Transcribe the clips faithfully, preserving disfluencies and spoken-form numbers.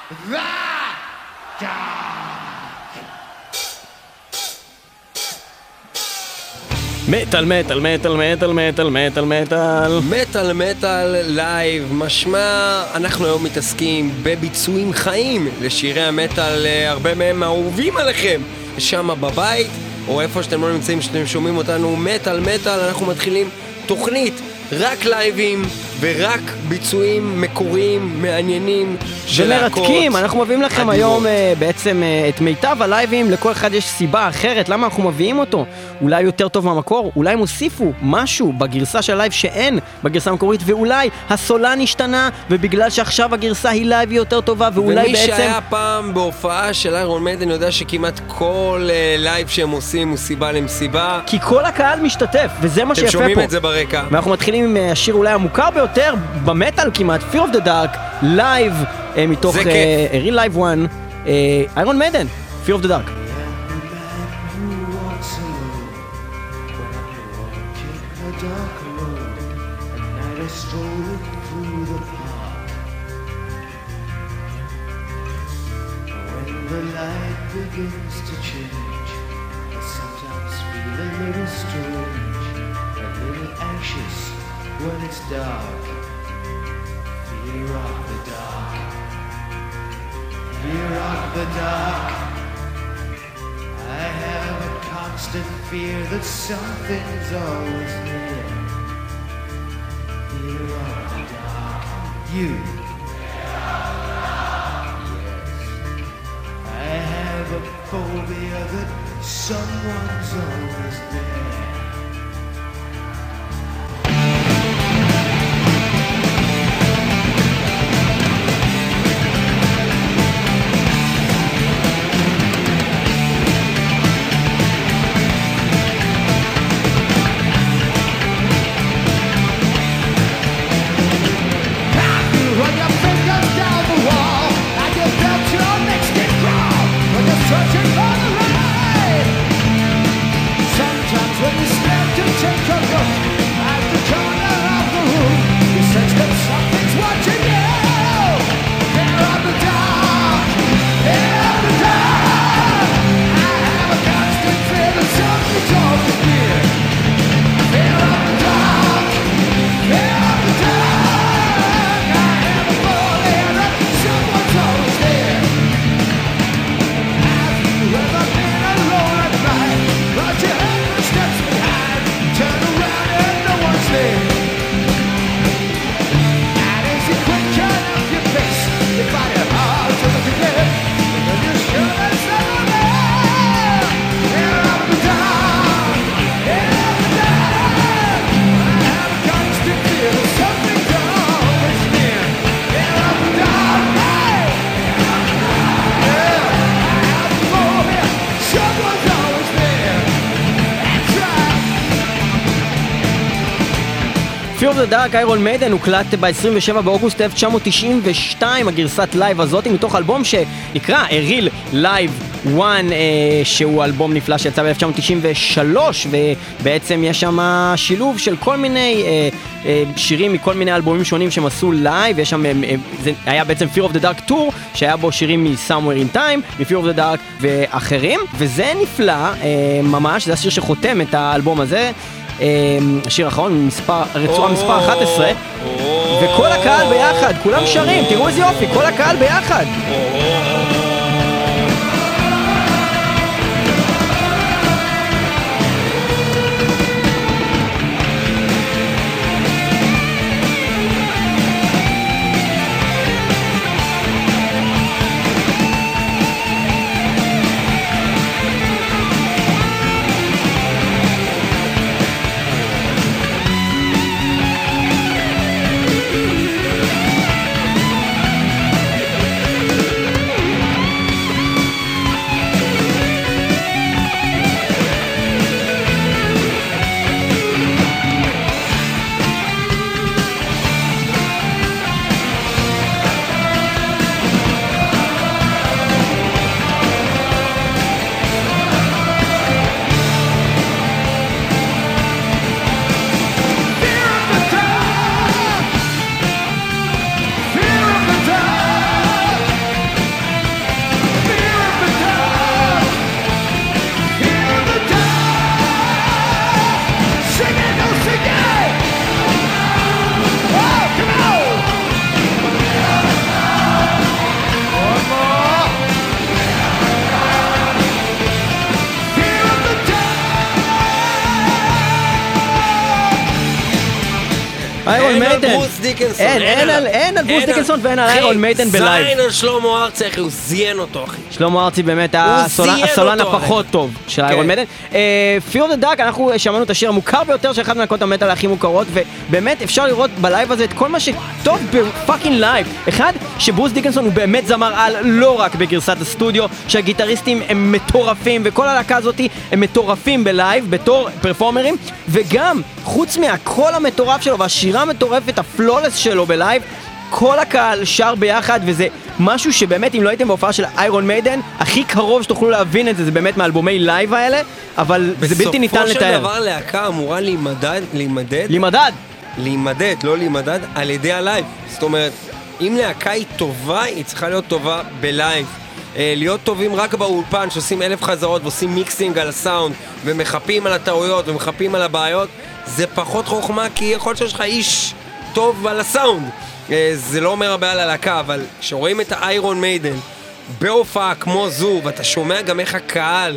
מטל מטל מטל מטל מטל מטל מטל מטל מטל לייב, משמע אנחנו היום מתעסקים בביצועים חיים לשירי המטל, הרבה מהם אהובים עליכם שם בבית או איפה שאתם לא נמצאים, שאתם שומעים אותנו. מטל מטל, אנחנו מתחילים תוכנית רק לייבים ורק ביצועים מקוריים, מעניינים ומרתקים. אנחנו מביאים לכם אדירות. היום uh, בעצם uh, את מיטב הלייבים. לכל אחד יש סיבה אחרת למה אנחנו מביאים אותו. אולי יותר טוב מהמקור, אולי הם הוסיפו משהו בגרסה של הלייב שאין בגרסה המקורית, ואולי הסולן השתנה ובגלל שעכשיו הגרסה היא לייב יותר טובה, ואולי ומי בעצם... שהיה פעם בהופעה של איירון מיידן יודע שכמעט כל uh, לייב שהם עושים הוא סיבה למסיבה, כי כל הקהל משתתף, וזה מה אתם שיפה פה. שומעים את זה ברקע. ואנחנו מתחילים עם uh, השיר אולי המוכר ביותר במטל כמעט, Fear of the Dark, לייב uh, מתוך uh, Real Live One, איירון מיידן, Fear of the Dark. The light begins to change. I sometimes feel a little strange, a little anxious when it's dark. Fear of the dark. Fear of the dark. I have a constant fear that something's always there. Fear of the dark. You. I have a phobia that someone's always there. Run your fingers down the wall, I can felt your next skin crawl when you're searching for the light. Sometimes when you start to take a look at the corner of the room, you sense that something's watching you. Fear of the dark, fear of the dark. I have a constant fear that something's always near. Fear of the dark, fear of the dark. Someone's always there. Have you ever been alone at night? But you heard footsteps behind. Turn around and no one's there. And as you quick turn up your face, you find it hard to look again. But you're sure there's someone there. Fear of the dark, fear of the dark. I have a constant fear that something's always near. Fear of the dark. Someone's always there. That's right. Fear of the Dark, איירון מיידן, הוקלט ב-עשרים ושבעה באוגוסט אלף תשע מאות תשעים ושתיים, הגרסת לייב הזאת, מתוך אלבום שנקרא A Real Live One, אה, שהוא אלבום נפלא שיצא ב-אלף תשע מאות תשעים ושלוש, ובעצם יש שם שילוב של כל מיני אה, אה, שירים מכל מיני אלבומים שונים שהם עשו לייב. יש שם, אה, זה היה בעצם Fear of the Dark Tour, שהיה בו שירים מ-Somewhere in Time, מ-Fear of the Dark ואחרים, וזה נפלא אה, ממש, זה השיר שחותם את האלבום הזה. השיר האחרון, מספר, רצועה מספר אחת עשרה, וכל הקהל ביחד, כולם שרים, תראו איזה יופי, כל הקהל ביחד. איירון אין על מיידן. ברוס דיקנסון. אין, אין על- אין על ברוס דיקנסון ואין על אחי, איירון מיידן בלייב. זין על שלמה ארצי, אחי, הוא זיין אותו, אחי. שלמה ארצי באמת הוא הסולן זיין הסולן אותו, הפחות הרי. טוב של כן. איירון מיידן. Fear of the Dark, אנחנו שמענו את השיר המוכר ביותר של אחת מלהקות המטאל הכי מוכרות, ובאמת אפשר לראות בלייב הזה את כל מה שטוב בפאקינג לייב. אחד, שברוס דיקנסון הוא באמת זמר על, לא רק בגרסת הסטודיו, שהגיטריסטים הם מטורפים, וכל הלהקה הזאת הם מטורפים בלייב, בתור פרפורמרים, וגם, חוץ מהקול המטורף שלו והשירה המטורפת, הפלולס שלו בלייב, כל הקהל שר ביחד, וזה משהו שבאמת אם לא הייתם בהופעה של איירון מיידן, הכי קרוב שתוכלו להבין את זה, זה באמת מאלבומי לייב האלה, אבל זה בלתי ניתן בסופו של לתאר. דבר להקה אמורה להימדד, להימדד, למדד! להימדד, לא להימדד, על ידי הלייב. זאת אומרת, אם להקה היא טובה, היא צריכה להיות טובה בלייב. אה, להיות טובים רק באולפן, שעושים אלף חזרות ועושים מיקסינג על הסאונד, ומחפים על הטעויות ומחפים על הבעיות, זה פחות חוכמה, כי יכול להיות שיש לך איש טוב על הסאונד. אה, זה לא אומר הרבה על הלהקה, אבל כשרואים את האיירון מיידן בהופעה כמו זו, ואתה שומע גם איך הקהל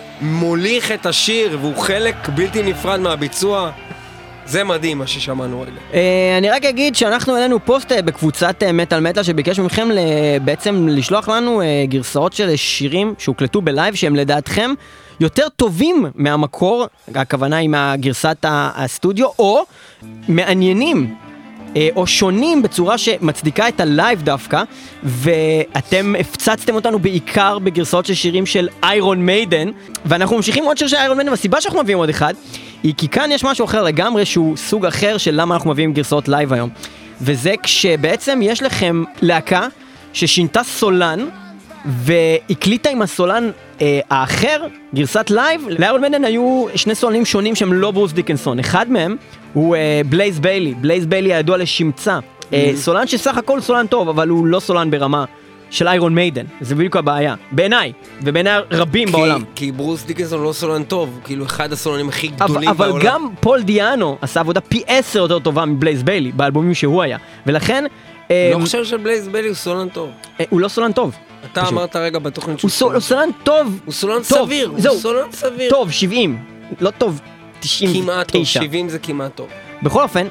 מוליך את השיר, והוא חלק בלתי נפרד מהביצוע, זה מדהים מה ששמענו רגע. אה, אני רק אגיד שאנחנו העלינו פוסט אה, בקבוצת אה, מטל מטל שביקש מכם ל- בעצם לשלוח לנו אה, גרסאות של שירים שהוקלטו בלייב שהם לדעתכם יותר טובים מהמקור, הכוונה היא מהגרסת ה- הסטודיו, או מעניינים אה, או שונים בצורה שמצדיקה את הלייב דווקא, ואתם הפצצתם אותנו בעיקר בגרסאות של שירים של איירון מיידן, ואנחנו ממשיכים עוד שיר של איירון מיידן, והסיבה שאנחנו מביאים עוד אחד היא כי כאן יש משהו אחר לגמרי שהוא סוג אחר של למה אנחנו מביאים גרסאות לייב היום, וזה כשבעצם יש לכם להקה ששינתה סולן והקליטה עם הסולן אה, האחר, גרסת לייב. לאיירון מיידן היו שני סולנים שונים שהם לא ברוס דיקנסון, אחד מהם הוא אה, בלייז ביילי, בלייז ביילי הידוע לשמצה, אה, סולן שסך הכל סולן טוב, אבל הוא לא סולן ברמה של איירון מיידן, זה בדיוק הבעיה, בעיניי, ובעיניי רבים כי, בעולם. כי ברוס דיקנסון לא סולן טוב, כאילו אחד הסולנים הכי אבל, גדולים אבל בעולם. גם פול דיאנו עשה עבודה פי עשר יותר טובה מבלייז ביילי, באלבומים שהוא היה, ולכן אה, לא חושב שבלייז ביילי הוא סולן טוב. אה, הוא לא סולן טוב. אתה פשוט. אמרת רגע בתוכנית הוא סול- הוא סולן טוב. הוא סולן טוב, סביר, זהו. הוא סולן סביר. טוב, שבעים. לא טוב, תשעים ותשע. כמעט טוב, שבעים זה כמעט טוב. בכל אופן,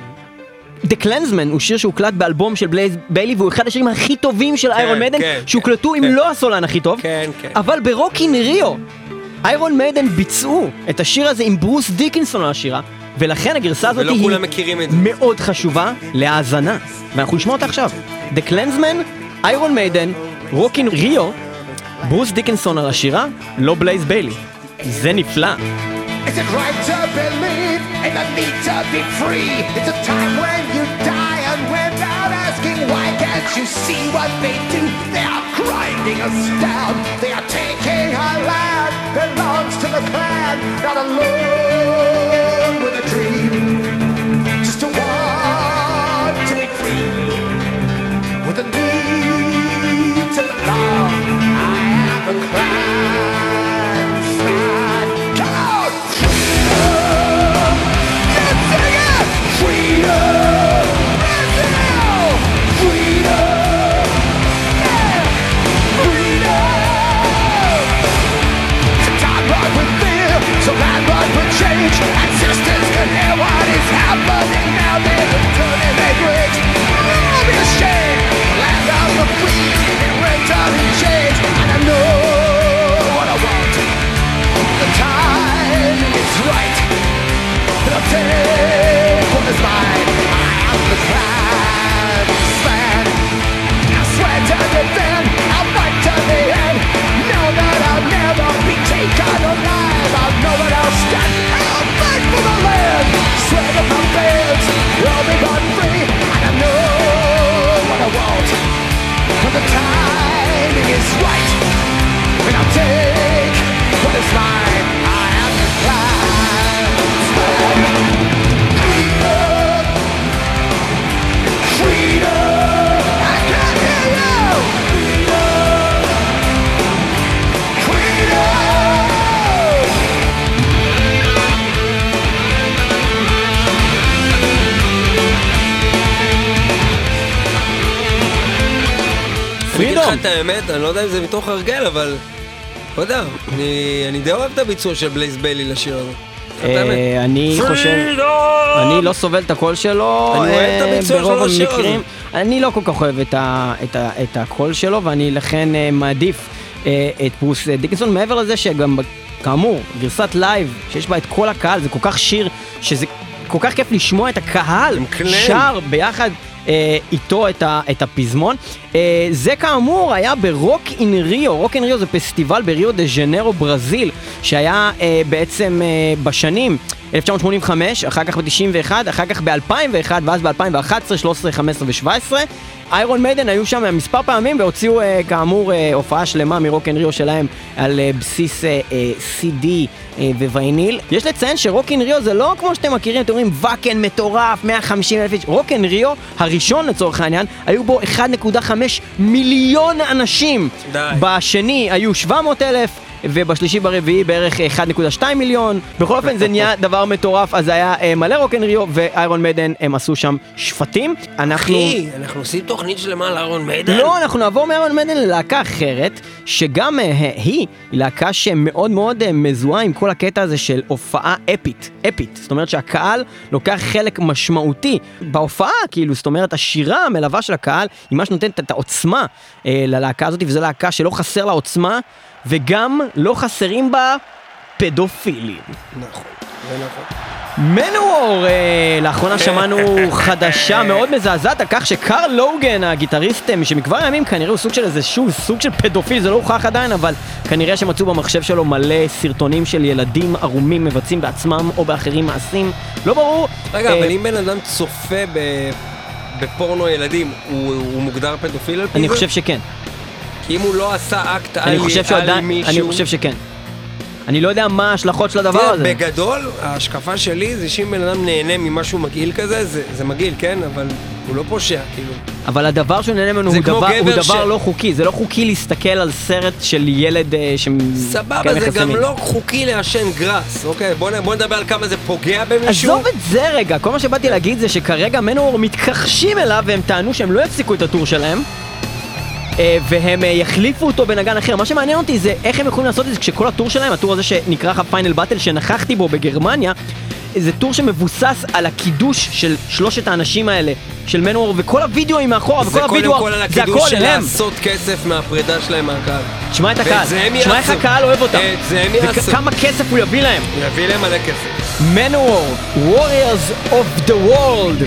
The Clansman הוא שיר שהוקלט באלבום של בלייז ביילי, והוא אחד השירים הכי טובים של איירון מיידן, כן, שהוקלטו עם כן. לא הסולן הכי טוב. כן, כן. אבל ברוקין ריו, איירון מיידן ביצעו את השיר הזה עם ברוס דיקנסון על השירה, ולכן הגרסה הזאת ולא היא כולם מכירים את זה. מאוד חשובה להאזנה, ואנחנו נשמע אותה עכשיו. The Clansman, איירון מיידן, רוקין ריו, ברוס דיקנסון על השירה, לא בלייז ביילי. זה נפלא. Is it right to believe in the need to be free? It's a time when you die and without asking why can't you see what they do? They are grinding us down. They are taking our land. Belongs to the clan, not alone with a dream. Just to want to be free. With a need to belong. I am a clansman. Come on! Freedom! Brazil! Freedom! Yeah! Freedom! So time run with fear, so land run with change. Ancestors can hear what is happening now. They're turning their graves. I'll be ashamed. Land of the free, in winter and change. And I know what I want. The time is right. I'll take what is mine. I am the clansman. I swear to defend, I'll fight to the end. Know that I'll never be taken alive. I'll know that I'll stand. I'll fight for the land. Swear to my veins, I'll be born free. And I know what I want. When the timing is right, and I'll take what is mine. I am the clansman. אני אגיד לך את האמת, אני לא יודע אם זה מתוך הרגל, אבל לא יודע, אני, אני די אוהב את הביצוע של בלייז ביילי לשיר הזה. אה, אני חושב, אני לא סובל את הקול שלו, אני אוהב את הביצוע שלו ברוב לשיר הזה. המקרים, אני לא כל כך אוהב את ה- את ה- את הקול שלו, ואני לכן אה, מעדיף אה, את ברוס דיקנסון, מעבר לזה שגם כאמור, גרסת לייב שיש בה את כל הקהל, זה כל כך שיר שזה כל כך כיף לשמוע את הקהל שר ביחד אה, איתו את, ה, את הפזמון. אה, זה כאמור היה ברוק אין ריו, רוק אין ריו זה פסטיבל בריו דה ז'נרו ברזיל, שהיה אה, בעצם אה, בשנים אלף תשע מאות שמונים וחמש, אחר כך ב-תשעים ואחת, אחר כך ב-אלפיים ואחת, ואז ב-אלפיים ואחת עשרה, שלוש עשרה, חמש עשרה ו-שבע עשרה. איירון מיידן היו שם מספר פעמים והוציאו אה, כאמור אה, הופעה שלמה מרוק אין ריו שלהם על אה, בסיס אה, אה, סי די אה, ווייניל. יש לציין שרוק אין ריו זה לא כמו שאתם מכירים, אתם אומרים וקן מטורף, מאה וחמישים אלף איש. רוק אין ריו הראשון לצורך העניין, היו בו אחד נקודה חמש מיליון אנשים. די. בשני היו שבע מאות אלף. ובשלישי ברביעי בערך אחד נקודה שתיים מיליון. בכל אופן זה נהיה דבר מטורף, אז היה אה, מלא רוק אין ריו, ואיירון מיידן הם עשו שם שפטים. אנחנו... אחי, אנחנו עושים תוכנית שלמה על איירון מיידן? לא, אנחנו נעבור מאיירון מיידן ללהקה אחרת, שגם אה, היא, היא להקה שמאוד מאוד אה, מזוהה עם כל הקטע הזה של הופעה אפית, אפית. זאת אומרת שהקהל לוקח חלק משמעותי בהופעה, כאילו, זאת אומרת, השירה המלווה של הקהל היא מה שנותנת את העוצמה אה, ללהקה הזאת, וזו להקה שלא חסר לה עוצמה, וגם לא חסרים בה פדופילים. נכון, זה נכון. מנוור, אה, לאחרונה שמענו חדשה מאוד מזעזעת על כך שקרל לוגן, הגיטריסט שמכבר הימים כנראה הוא סוג של איזה שוב, סוג של פדופיל, זה לא הוכח עדיין, אבל כנראה שמצאו במחשב שלו מלא סרטונים של ילדים ערומים מבצעים בעצמם או באחרים מעשים, לא ברור. רגע, אה, אבל אם בן אדם צופה ב... בפורנו ילדים, הוא, הוא מוגדר פדופיל על פי אני זה? חושב שכן. כי אם הוא לא עשה אקט אני על, חושב על שעדיין, מישהו... אני חושב שכן. אני לא יודע מה ההשלכות של הדבר תראה, הזה. בגדול, ההשקפה שלי זה שאם בן אדם נהנה ממשהו מגעיל כזה, זה, זה מגעיל, כן? אבל הוא לא פושע, כאילו. אבל הדבר שהוא נהנה ממנו זה הוא כמו דבר, הוא גבר דבר ש- לא חוקי, זה לא חוקי להסתכל על סרט של ילד אה, ש... סבבה, כן, זה מחסנים. גם לא חוקי לעשן גראס, אוקיי? בוא, נ- בוא נדבר על כמה זה פוגע במישהו. עזוב את זה רגע, כל מה שבאתי להגיד זה שכרגע מנוור מתכחשים אליו והם טענו שהם לא יפסיקו את הטור שלהם אה, והם אה, יחליפו אותו בנגן אחר. מה שמעניין אותי זה איך הם יכולים לעשות את זה כשכל הטור שלהם, הטור הזה שנקרא פיינל באטל שנכחתי בו בגרמניה, זה טור שמבוסס על הקידוש של שלושת האנשים האלה של מנוור, וכל הוידאוים מאחורה וכל זה קודם הוידאו כל על זה הקידוש הכל של הם. לעשות כסף מהפרידה שלהם מהקהל. תשמע את ואת הקהל, זה הם תשמע איך יעשו. הקהל אוהב אותם, את זה הם יעשו. וכמה כסף הוא יביא להם. הוא יביא להם מלא כסף. מנוור, Warriors of the World,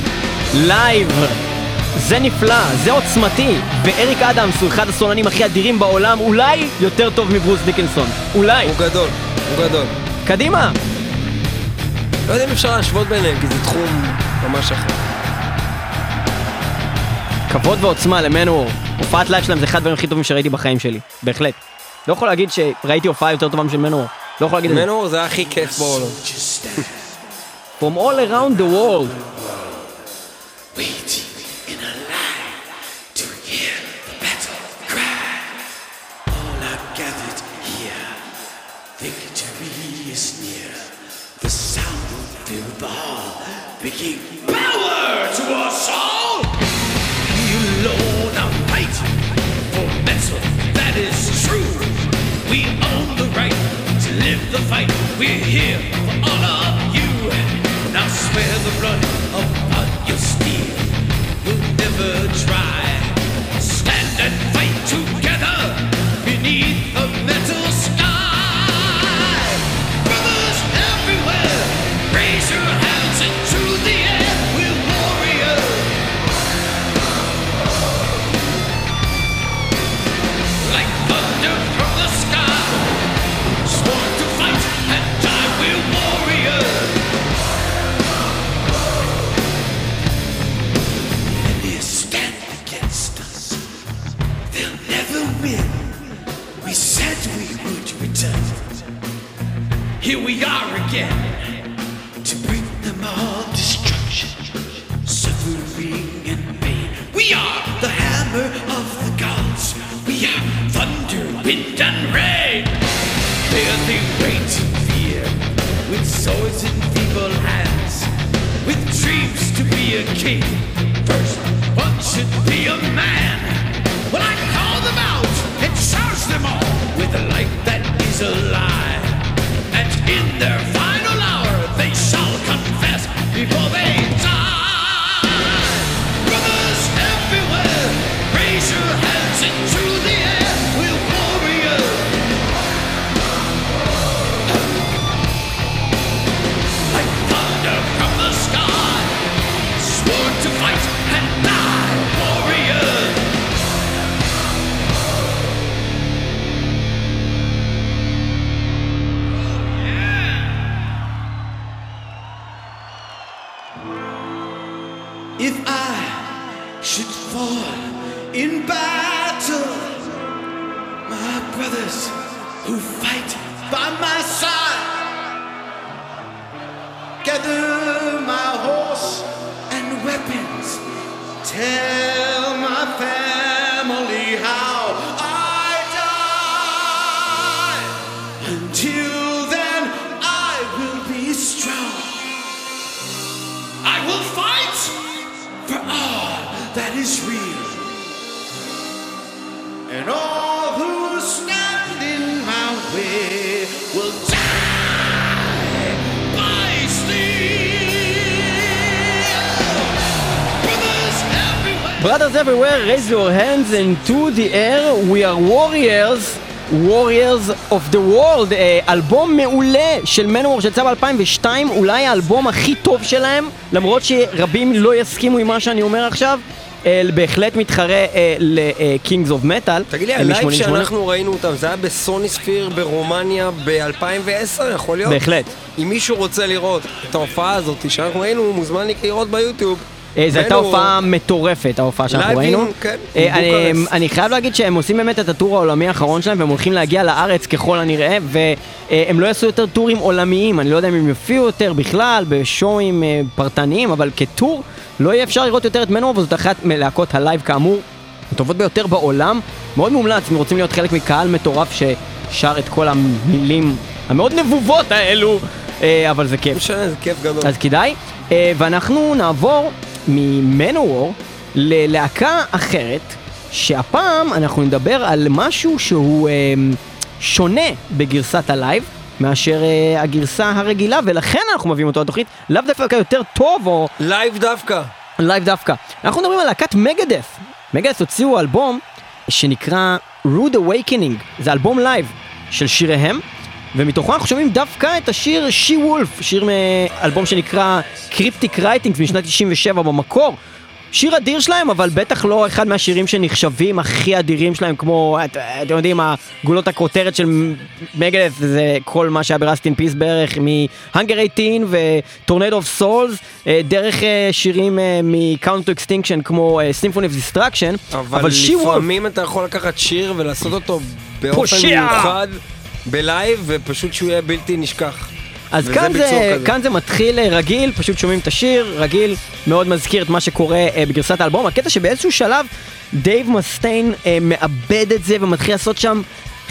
לייב, זה נפלא, זה עוצמתי, ואריק אדמס הוא אחד הסולנים הכי אדירים בעולם, אולי יותר טוב מברוס דיקנסון, אולי. הוא גדול, הוא גדול. קדימה. לא יודע אם אפשר להשוות ביניהם, כי זה תחום ממש אחר. כבוד ועוצמה למנוור, הופעת לייב שלהם זה אחד הדברים הכי טובים שראיתי בחיים שלי, בהחלט. לא יכול להגיד שראיתי הופעה יותר טובה משל מנוור, לא יכול להגיד את זה. מנוור זה הכי כיף בעולם. From all around the world. Waiting in a line to hear the battle cry. All are gathered here. Victory is near. The sound will fill the hall, bringing power to us all. We alone are fighting for metal that is true. We own the right to live the fight. We're here for honor you. Now swear the blood upon your steel. We'll never try. Stand and fight together beneath a metal sky. Brothers everywhere, raise your hands into the air. We're warriors. Like thunder from the sky, sworn to fight and die. We're warriors. Stand against us. They'll never win. We said we would return. Here we are again to bring them all destruction, suffering and pain. We are the hammer of the gods. We are thunder, wind and rain. There they wait in fear, with swords in feeble hands, with dreams to be a king. First, one should be a man. Well, I call them out and charge them all with a light that is alive. And in their final fall in battle. My brothers who fight by my side, gather my horse and weapons, tell my family how I die. Until then I will be strong. I will fight for all that is real, and all who stand in my way will die by steel. Brothers everywhere. Brothers everywhere, raise your hands into the air. We are warriors. Warriors of the World, אלבום מעולה של מנוור שיצא ב-אלפיים ושתיים, אולי האלבום הכי טוב שלהם, למרות שרבים לא יסכימו עם מה שאני אומר עכשיו, בהחלט מתחרה ל-Kings of Metal. תגיד לי, הלייב שאנחנו ראינו אותם, זה היה בסוני ספיר ברומניה ב-אלפיים ועשר, יכול להיות? בהחלט. אם מישהו רוצה לראות את ההופעה הזאת שאנחנו ראינו, מוזמן לראות ביוטיוב. זו הייתה הופעה מטורפת, ההופעה שאנחנו ראינו. אני חייב להגיד שהם עושים באמת את הטור העולמי האחרון שלהם, והם הולכים להגיע לארץ ככל הנראה, והם לא יעשו יותר טורים עולמיים. אני לא יודע אם הם יופיעו יותר בכלל, בשואים פרטניים, אבל כטור לא יהיה אפשר לראות יותר את מנוור, וזאת אחת מלהקות הלייב כאמור הטובות ביותר בעולם. מאוד מומלץ, אם רוצים להיות חלק מקהל מטורף ששר את כל המילים המאוד נבובות האלו, אבל זה כיף. משנה, זה כיף גדול. אז כדאי. ואנחנו נעבור ממנוור ללהקה אחרת, שהפעם אנחנו נדבר על משהו שהוא שונה בגרסת הלייב מאשר הגרסה הרגילה, ולכן אנחנו מביאים אותו לתוכנית, לאו דווקא יותר טוב או... לייב דווקא. לייב דווקא. אנחנו מדברים על להקת מגדף. מגדף הוציאו אלבום שנקרא Rude Awakening, זה אלבום לייב של שיריהם, ומתוכו אנחנו שומעים דווקא את השיר She Wolf, שיר מאלבום שנקרא Cryptic Writings משנת תשעים ושבע במקור. שיר אדיר שלהם, אבל בטח לא אחד מהשירים שנחשבים הכי אדירים שלהם, כמו, את, אתם יודעים, הגולות הכותרת של מגדף, זה כל מה שהיה ברסט אין פיס בערך, מ-Hunger eighteen ו-Tornado of Souls, דרך שירים מ-Count to Extinction, כמו Symphony of Destruction, אבל, אבל לפעמים אתה יכול לקחת שיר ולעשות אותו באופן מיוחד בלייב, ופשוט שהוא יהיה בלתי נשכח. אז כאן זה, כאן זה מתחיל רגיל, פשוט שומעים את השיר, רגיל, מאוד מזכיר את מה שקורה אה, בגרסת האלבום. הקטע שבאיזשהו שלב דייב מסטיין אה, מאבד את זה ומתחיל לעשות שם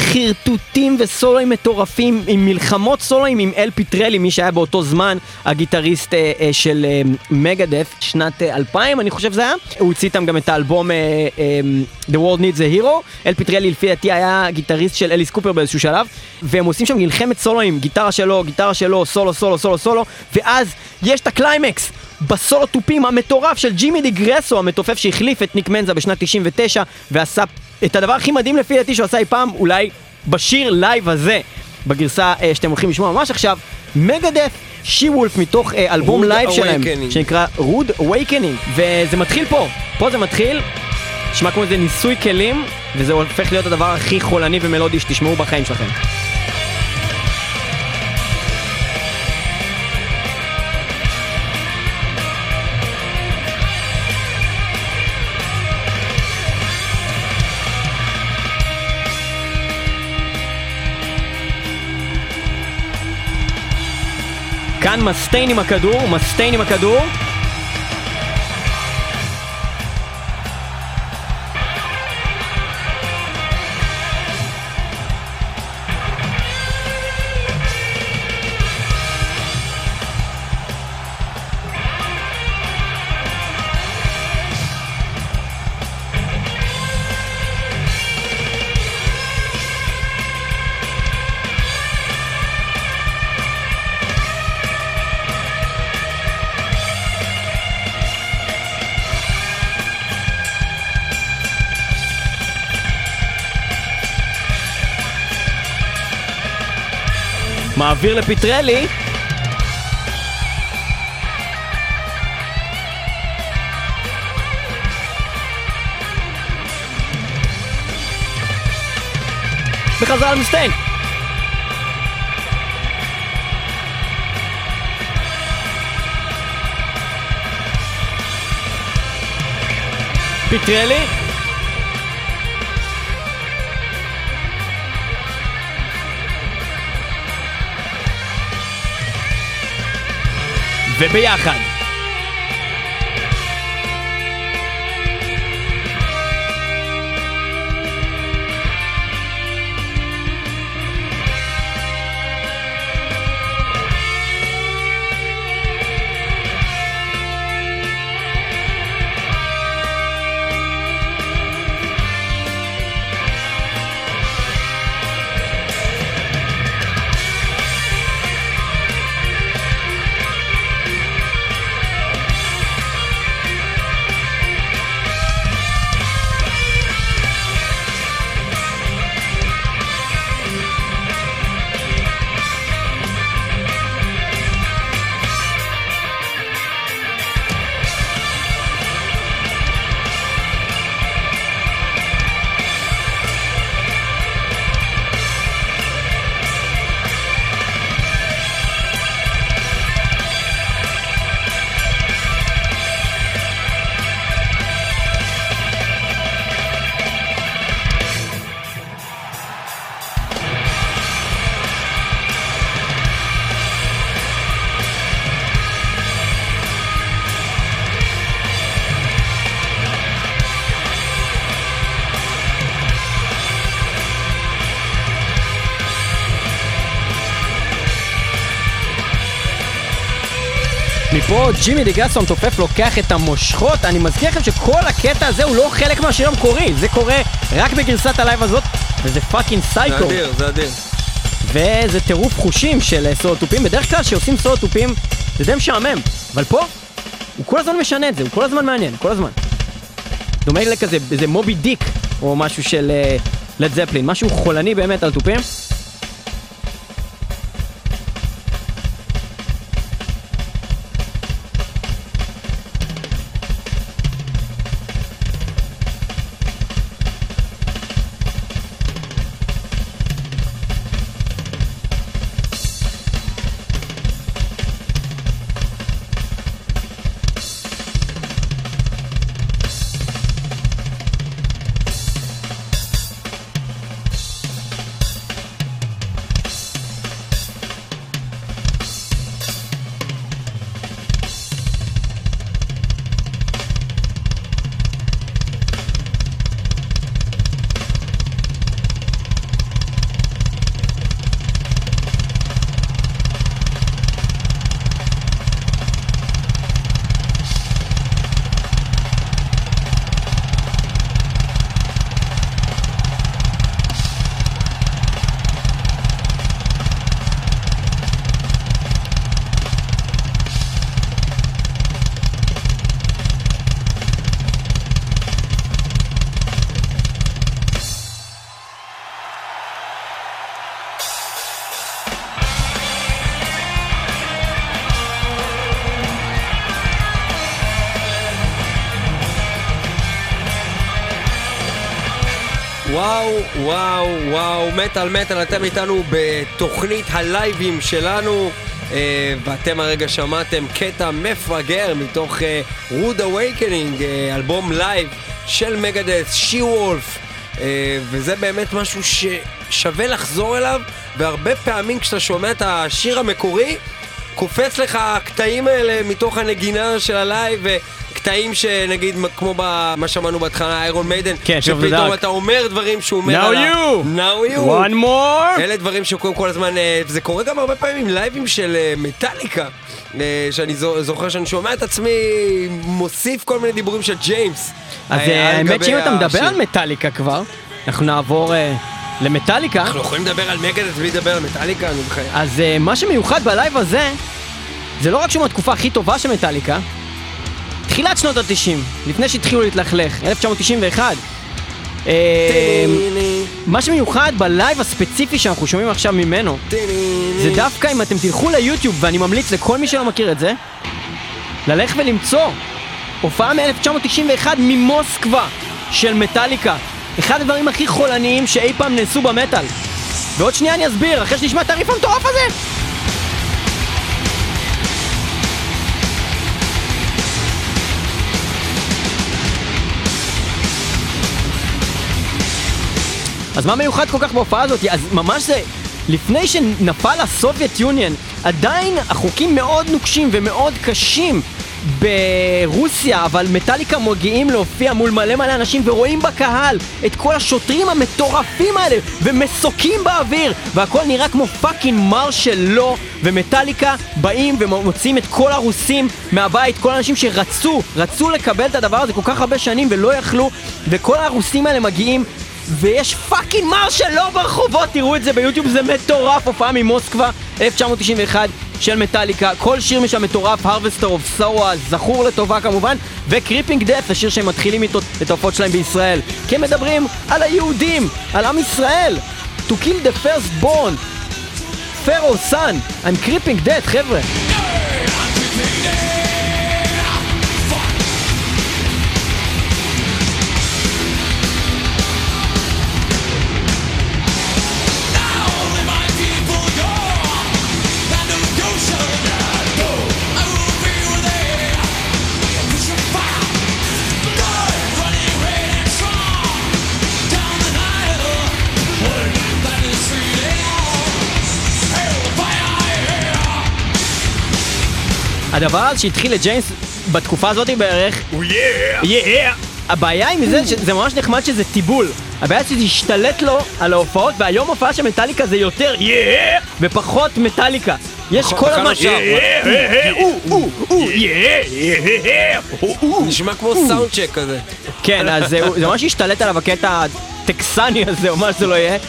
חרטוטים וסולואים מטורפים, עם מלחמות סולואים עם אל פיטרלי, מי שהיה באותו זמן הגיטריסט אה, אה, של אה, מגדף, שנת אה, אלפיים אני חושב זה היה. הוא הוציא איתם גם את האלבום אה, אה, The World Needs a Hero. אל פיטרלי לפי דעתי היה גיטריסט של אליס קופר באיזשהו שלב, והם עושים שם מלחמת סולואים, גיטרה שלו, גיטרה שלו, סולו, סולו, סולו, סולו, ואז יש את הקליימקס בסולו טופים המטורף של ג'ימי די גרסו, המתופף שהחליף את ניק מנזה בשנת תשעים ותשע, ועשה את הדבר הכי מדהים לפי דעתי שהוא עשה אי פעם, אולי בשיר לייב הזה, בגרסה אה, שאתם הולכים לשמוע ממש עכשיו, מגדף, She Wolf, מתוך אה, אלבום לייב שלהם, שנקרא Rude Awakening, וזה מתחיל פה, פה זה מתחיל, נשמע כמו איזה ניסוי כלים, וזה הופך להיות הדבר הכי חולני ומלודי שתשמעו בחיים שלכם. כאן מסטיין עם הכדור, מסטיין עם הכדור. מעביר לפיטרלי. בחזרה למסטיין. פיטרלי. וביחד. מפה ג'ימי דיגרסון תופף לוקח את המושכות. אני מזכיר לכם שכל הקטע הזה הוא לא חלק מהשיר המקורי, זה קורה רק בגרסת הלייב הזאת, וזה פאקינג סייקו. זה אדיר, זה אדיר. וזה טירוף חושים של סולו-טופים. בדרך כלל שעושים סולו-טופים זה די משעמם, אבל פה הוא כל הזמן משנה את זה, הוא כל הזמן מעניין, כל הזמן. דומה לכזה, איזה מובי דיק או משהו של לד זפלין, משהו חולני באמת על טופים. וואו, וואו, וואו, מטל מטל, אתם איתנו בתוכנית הלייבים שלנו, אה, ואתם הרגע שמעתם קטע מפגר מתוך אה, Rude Awakening, אה, אלבום לייב של מגדס, שי וולף, אה, וזה באמת משהו ששווה לחזור אליו, והרבה פעמים כשאתה שומע את השיר המקורי, קופץ לך הקטעים האלה מתוך הנגינה של הלייב, קטעים שנגיד כמו מה שמענו בהתחלה איירון מיידן, כן, שפתאום אתה אומר דברים שהוא אומר Now עליו. you! Now you! One more! אלה דברים שקוראים כל הזמן, זה קורה גם הרבה פעמים עם לייבים של מטאליקה, שאני זוכר שאני שומע את עצמי מוסיף כל מיני דיבורים של ג'יימס. אז האמת שאם אתה מדבר על מטאליקה כבר, אנחנו נעבור למטאליקה. אנחנו יכולים לדבר על מגדס בלי לדבר על מטאליקה, אני בחיים. אז מה שמיוחד בלייב הזה, זה לא רק שהוא מהתקופה הכי טובה של מטאליקה, תחילת שנות ה-תשעים, לפני שהתחילו להתלכלך, אלף תשע מאות תשעים ואחת. מה שמיוחד בלייב הספציפי שאנחנו שומעים עכשיו ממנו, זה דווקא אם אתם תלכו ליוטיוב, ואני ממליץ לכל מי שלא מכיר את זה, ללך ולמצוא הופעה מ-אלף תשע מאות תשעים ואחת ממוסקבה של מטאליקה, אחד הדברים הכי חולניים שאי פעם נעשו במטאל. ועוד שנייה אני אסביר, אחרי שנשמע את הריף המטורף הזה. אז מה מיוחד כל כך בהופעה הזאת? אז ממש זה, לפני שנפל הסובייט יוניון, עדיין החוקים מאוד נוקשים ומאוד קשים ברוסיה, אבל מטאליקה מגיעים להופיע מול מלא מלא אנשים ורואים בקהל את כל השוטרים המטורפים האלה ומסוקים באוויר והכל נראה כמו פאקינג מרשל לא, ומטאליקה באים ומוצאים את כל הרוסים מהבית, כל האנשים שרצו רצו לקבל את הדבר הזה כל כך הרבה שנים ולא יכלו, וכל הרוסים האלה מגיעים ויש פאקינג מרשל לא ברחובות. תראו את זה ביוטיוב, זה מטורף. הופעה ממוסקבה אלף תשע מאות תשעים ואחת של מטאליקה, כל שיר משם מטורף. Harvester of Sorrow זכור לטובה כמובן, וקריפינג דף, השיר שהם מתחילים איתו את ההופעות שלהם בישראל, כי הם מדברים על היהודים, על עם ישראל. To kill the first born Pharaoh's son. I'm creeping death, חבר'ה. הדבר הזה שהתחיל לג'יימס בתקופה הזאת בערך, oh yeah! yeah! הבעיה עם זה שזה ממש נחמד שזה טיבול. הבעיה שזה השתלט לו על ההופעות, והיום הופעה של מטאליקה זה יותר yeah! ופחות מטאליקה. יש כל המשהו. נשמע כמו סאונד צ'ק כזה. כן, אז זה ממש השתלט עליו הקטע הטקסני הזה, או מה שזה לא יהיה.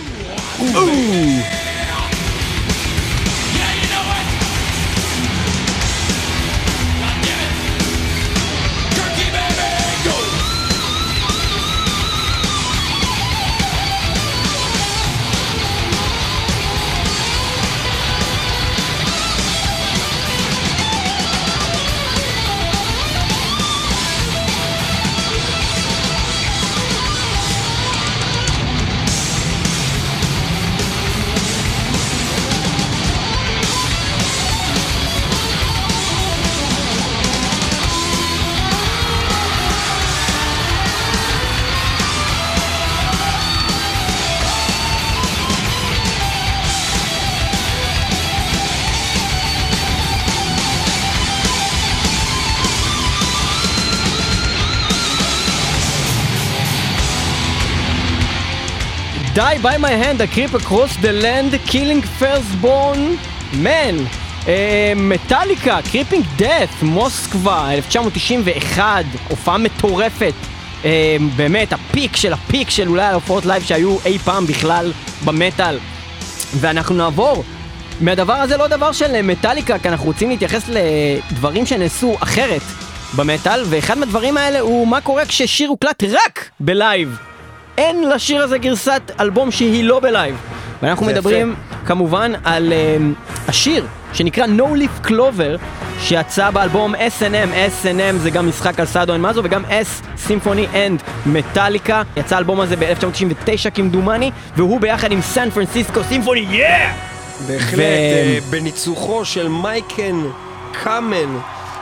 Die by my hand, I creep across the land, killing firstborn man. מטאליקה, קריפינג דאט, מוסקבה, אלף תשע מאות תשעים ואחת, הופעה מטורפת. Uh, באמת, הפיק של הפיק של אולי ההופעות לייב שהיו אי פעם בכלל במטל. ואנחנו נעבור מהדבר הזה לא דבר של מטאליקה, כי אנחנו רוצים להתייחס לדברים שנעשו אחרת במטל, ואחד מהדברים האלה הוא מה קורה כששיר הוקלט רק בלייב. אין לשיר הזה גרסת אלבום שהיא לא בלייב. ואנחנו מדברים כמובן על uh, השיר שנקרא No Leaf Clover, שיצא באלבום אס אנד אם. אס אנד אם זה גם משחק על סאדו אנד מזו, וגם S Symphony and Metallica. יצא האלבום הזה ב-אלף תשע מאות תשעים ותשע כמדומני, והוא ביחד עם סן פרנסיסקו סימפוני, יאה! בהחלט, בניצוחו של מייקן קאמן,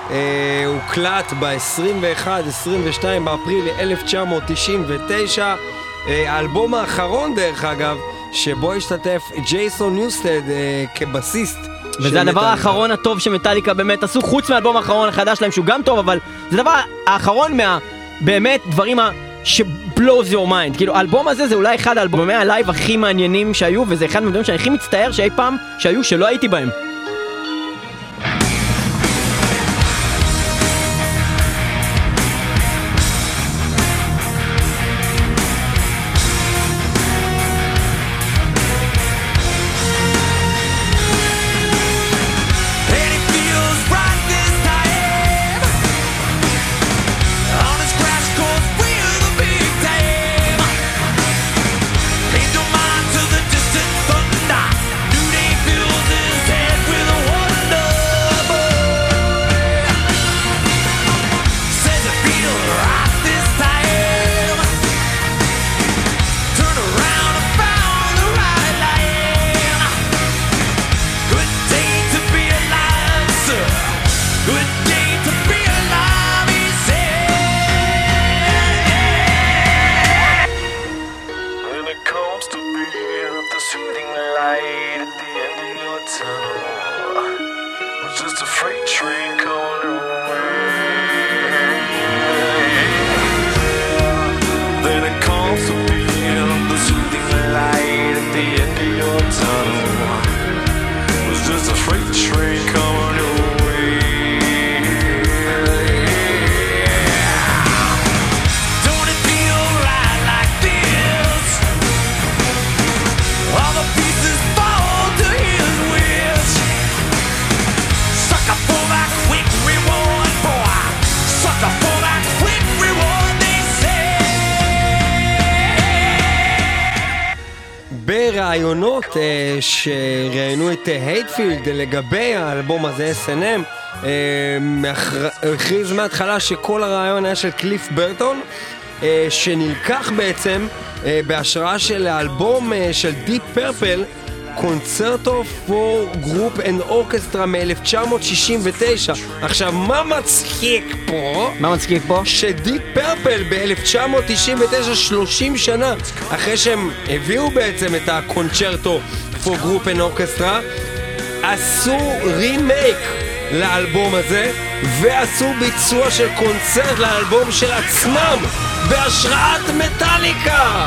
הוקלט ב-עשרים ואחד עשרים ושתיים באפריל אלף תשע מאות תשעים ותשע, האלבום האחרון דרך אגב, שבו השתתף ג'ייסון ניוסטד כבסיסט. וזה הדבר האחרון הטוב שמטאליקה באמת עשו, חוץ מהאלבום האחרון החדש להם שהוא גם טוב, אבל זה דבר האחרון מה באמת דברים ש blows your mind. כאילו האלבום הזה זה אולי אחד האלבומי הלייב הכי מעניינים שהיו, וזה אחד מהדברים שאני הכי מצטער שאי פעם שהיו שלא הייתי בהם. Head הרעיונות uh, שראיינו את הייטפילד לגבי האלבום הזה, אס אנד אם, uh, הכריז מההתחלה שכל הרעיון היה של קליף ברטון, uh, שנלקח בעצם uh, בהשראה של האלבום uh, של דיפ פרפל, קונצרטו פור גרופ אנד אורקסטרה מ-אלף תשע מאות שישים ותשע. עכשיו, מה מצחיק פה? מה מצחיק פה? שדיפ פרפל ב-אלף תשע מאות תשעים ותשע, שלושים שנה אחרי שהם הביאו בעצם את הקונצ'רטו פור גרופ אנד אורקסטרה, עשו רימייק לאלבום הזה ועשו ביצוע של קונצרט לאלבום של עצמם בהשראת מטאליקה.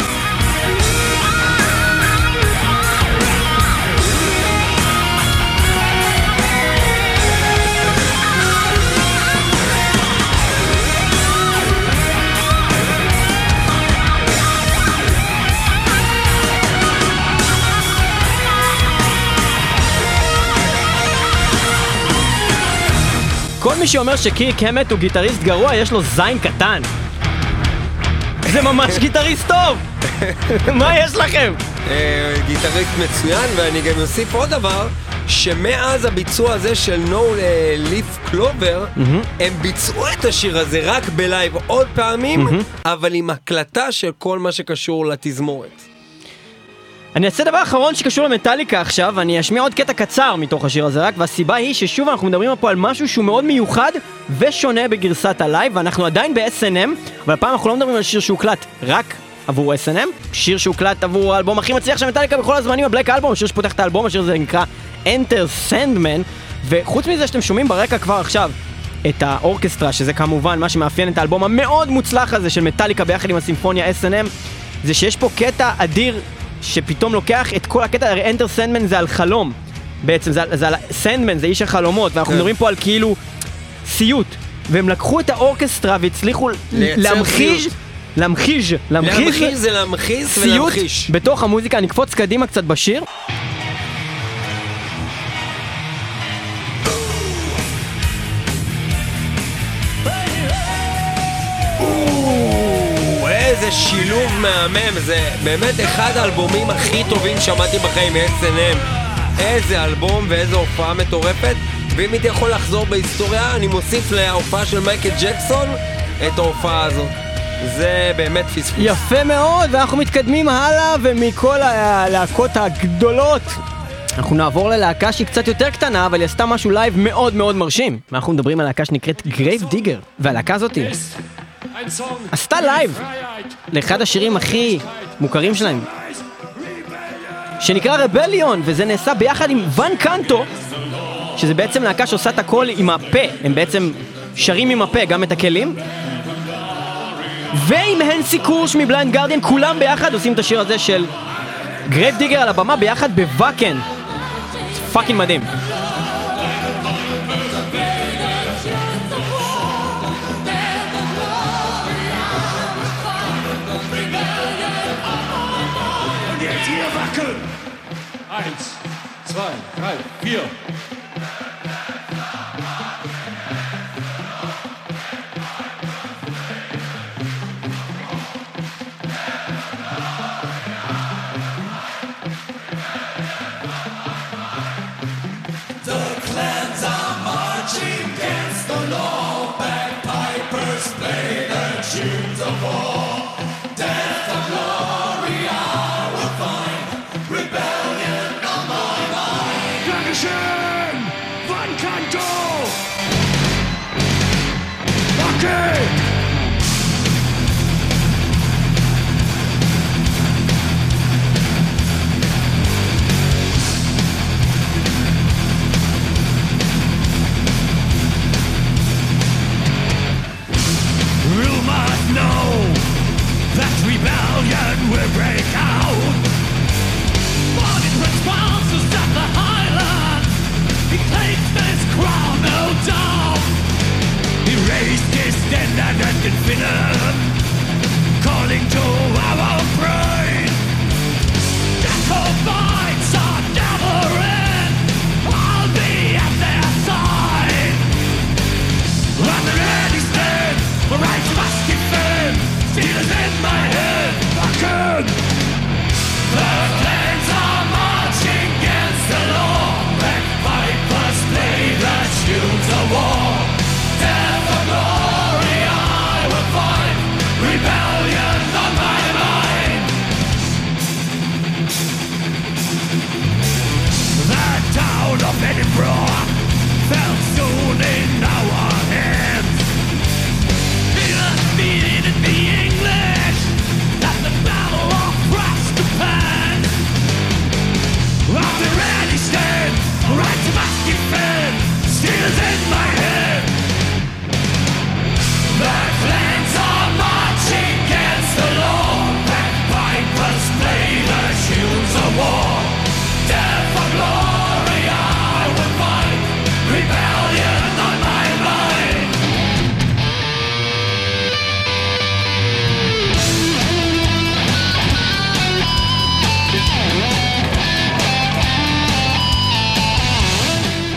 כל מי שאומר שקירק המט הוא גיטריסט גרוע, יש לו זין קטן. זה ממש גיטריסט טוב! מה יש לכם? גיטריסט מצוין, ואני גם אוסיף עוד דבר, שמאז הביצוע הזה של No Leaf Clover, הם ביצעו את השיר הזה רק בלייב עוד פעמים, אבל עם הקלטה של כל מה שקשור לתזמורת. אני אעשה דבר אחרון שקשור למטאליקה עכשיו, אני אשמיע עוד קטע קצר מתוך השיר הזה רק, והסיבה היא ששוב אנחנו מדברים פה על משהו שהוא מאוד מיוחד ושונה בגרסת הלייב, ואנחנו עדיין ב-אס אנד אם, אבל הפעם אנחנו לא מדברים על שיר שהוקלט רק עבור אס אנד אם, שיר שהוקלט עבור האלבום הכי מצליח של מטאליקה בכל הזמנים, הבלק אלבום, השיר שפותח את האלבום, השיר הזה נקרא Enter Sandman, וחוץ מזה שאתם שומעים ברקע כבר עכשיו את האורקסטרה, שזה כמובן מה שמאפיין את האלבום המאוד מוצלח הזה של מטאליקה ביחד עם הסימפוניה אס אנד אם, זה שיש פה קטע אדיר שפתאום לוקח את כל הקטע, הרי Enter Sandman זה על חלום בעצם, זה, זה על Sandman, זה איש החלומות, ואנחנו מדברים פה על כאילו סיוט, והם לקחו את האורקסטרה והצליחו להמחיש, להמחיש, להמחיש זה להמחיש ולהמחיש סיוט בתוך המוזיקה. אני אקפוץ קדימה קצת בשיר. איזה שילוב מהמם, זה באמת אחד האלבומים הכי טובים שמעתי בחיים מ-אס אנד אם. איזה אלבום ואיזה הופעה מטורפת, ואם הייתי יכול לחזור בהיסטוריה אני מוסיף להופעה של מייקל ג'קסון את ההופעה הזאת. זה באמת פספוס. יפה מאוד, ואנחנו מתקדמים הלאה, ומכל הלהקות הגדולות אנחנו נעבור ללהקה שהיא קצת יותר קטנה, אבל היא עשתה משהו לייב מאוד מאוד מרשים. אנחנו מדברים על להקה שנקראת גרייב דיגר, והלהקה הזאת עשתה לייב לאחד השירים הכי מוכרים שלהם שנקרא רבליון, וזה נעשה ביחד עם ון קנטו, שזה בעצם להקה שעושה את הכל עם הפה, הם בעצם שרים עם הפה גם את הכלים, ועם הנסי קורש מבליינד גרדיאן, כולם ביחד עושים את השיר הזה של גרייב דיגר על הבמה ביחד בוואקן. פאקינג מדהים. Eins, zwei, drei, vier. The clans are marching against the law. Bagpipers play the tunes of war. Death or glory, I will find. Rebellion on my mind. Dankeschön! Van Canto! Okay! You must know that rebellion will break out. Morning response to stop the Highland. He takes this crown, no doubt. He raised his standard and infinite, calling to our pride. Jacobites are gathering. I'll be at their side. On the ready stand, the right must defend. Steel is in my head. Fucking the clans are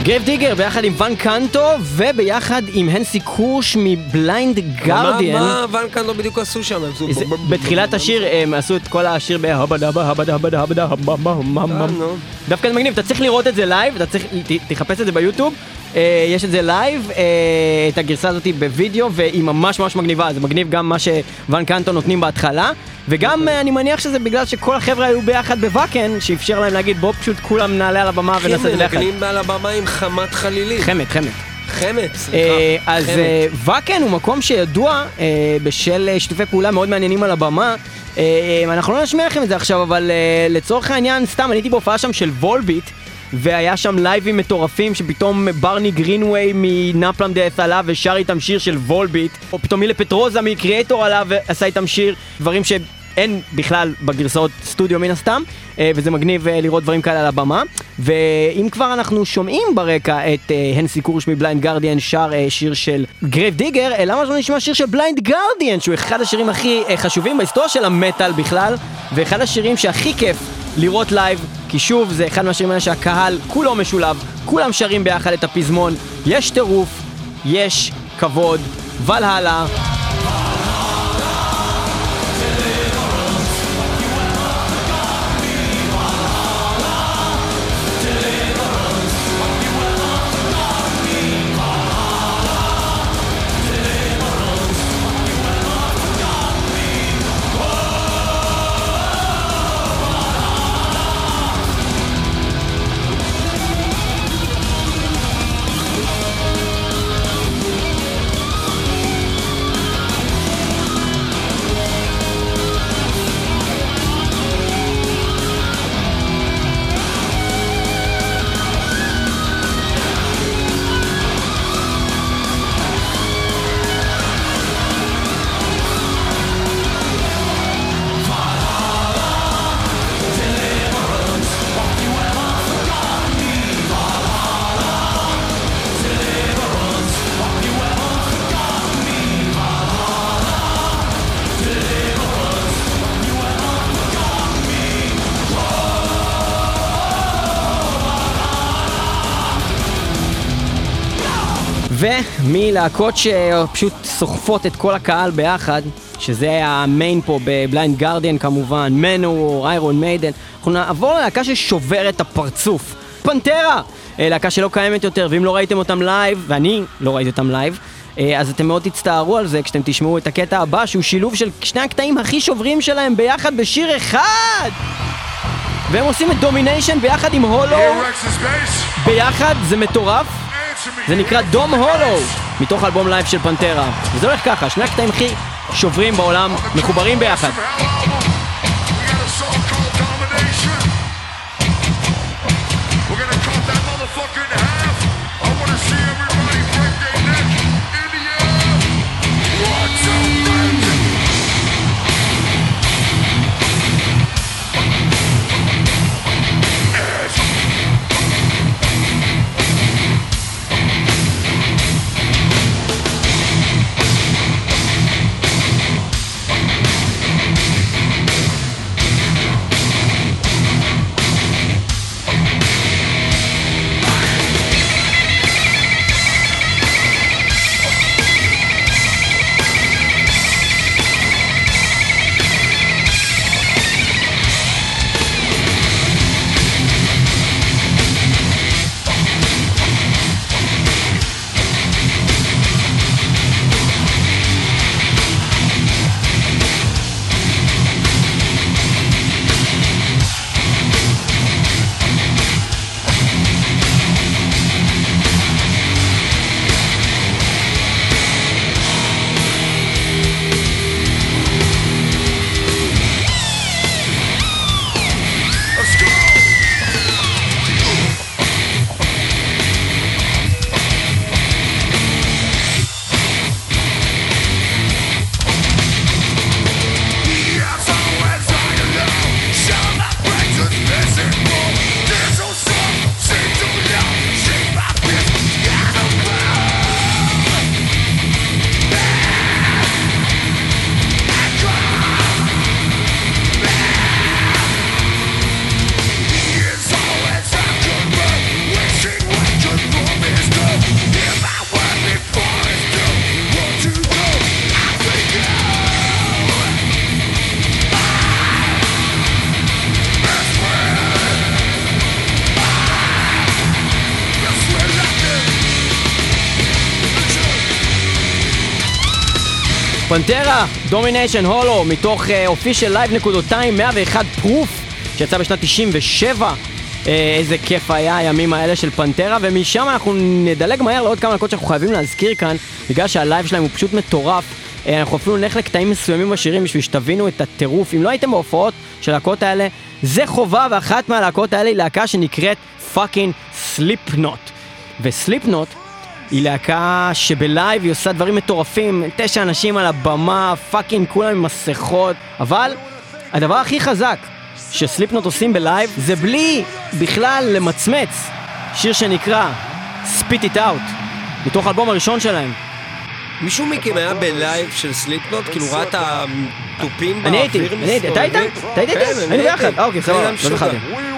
גרייב דיגר ביחד עם ון קנטו וביחד עם הנסי קורש מבליינד גרדיאן. מה ון קנטו בדיוק עשו שם? בתחילת השיר הם עשו את כל השיר בהבדה הבדה הבדה הבדה דווקא זה מגניב, אתה צריך לראות את זה לייב, אתה צריך, תחפש את זה ביוטיוב, יש את זה לייב, את הגרסה הזאת בווידאו, והיא ממש ממש מגניבה, זה מגניב גם מה שוון קנטו נותנים בהתחלה, וגם אני מניח שזה בגלל שכל החבר'ה היו ביחד בוואקן, שאפשר להם להגיד בוא פשוט כולם נעלה על הבמה ונעשה את זה ביחד. כן, מנגנים על הבמה עם חמת חלילים. חמת, חמת. חמת, סליחה. אז וואקן הוא מקום שידוע בשל שיתופי פעולה מאוד מעניינים על הבמה, אנחנו לא נשמיע לכם את זה עכשיו, אבל לצורך העניין, סתם, אני הייתי בהופעה שם של וולביט, והיה שם לייבים מטורפים שפתאום ברני גרינווי מנפלם דאס עלה ושר איתם שיר של וולביט, או פתאום מילה פטרוזה מקריאטור עלה ועשה איתם שיר, דברים שאין בכלל בגרסאות סטודיו מן הסתם, וזה מגניב לראות דברים כאלה על הבמה. ואם כבר אנחנו שומעים ברקע את הנסי קורש מבליינד גרדיאן שר שיר של גרייב דיגר, למה לא נשמע שיר של בליינד גרדיאן, שהוא אחד השירים הכי חשובים בהיסטוריה של המטל בכלל, ואחד השירים שהכי כיף לראות לייב, כי שוב זה אחד מהשירים האלה שהקהל כולו משולב, כולם שרים ביחד את הפזמון, יש טירוף, יש כבוד, ולהלה. ומלהקות שפשוט סוחפות את כל הקהל ביחד, שזה המיין פה בבליינד גרדיאן כמובן, מנוור, איירון מיידן, אנחנו נעבור ללהקה ששוברת את הפרצוף, פנטרה, להקה שלא קיימת יותר, ואם לא ראיתם אותם לייב, ואני לא ראיתי אותם לייב, אז אתם מאוד תצטערו על זה כשאתם תשמעו את הקטע הבא, שהוא שילוב של שני הקטעים הכי שוברים שלהם ביחד בשיר אחד, והם עושים את דומיניישן ביחד עם הולו, ביחד, זה מטורף. זה נקרא דום הולו, מתוך אלבום לייב של פנטרה. וזה הולך ככה, שני הקטעים הכי שוברים בעולם מחוברים ביחד. פנטרה, דומיניישן הולו, מתוך אופישל לייב נקודותיים מאה ואחת פרוף, שיצא בשנת תשעים ושבע. איזה כיף היה הימים האלה של פנטרה, ומשם אנחנו נדלג מהר לעוד כמה דקות שאנחנו חייבים להזכיר כאן, בגלל שהלייב שלהם הוא פשוט מטורף. אנחנו אפילו נלך לקטעים מסוימים בשירים בשביל שתבינו את הטירוף. אם לא הייתם בהופעות של הלהקות האלה, זה חובה, ואחת מהלהקות האלה היא להקה שנקראת פאקינג סליפנוט. וסליפנוט היא להקה שבלייב היא עושה דברים מטורפים, תשע אנשים על הבמה, פאקינג כולם עם מסכות, אבל הדבר הכי חזק שסליפנוט עושים בלייב זה בלי בכלל למצמץ, שיר שנקרא Spit It Out, מתוך האלבום הראשון שלהם. מישהו מכם היה בלייב של סליפנוט? כאילו ראה את הטופים אני הייתי, אני הייתי, אתה היית? אתה היית? אני ביחד, אוקיי, סבבה, לא זכרתי.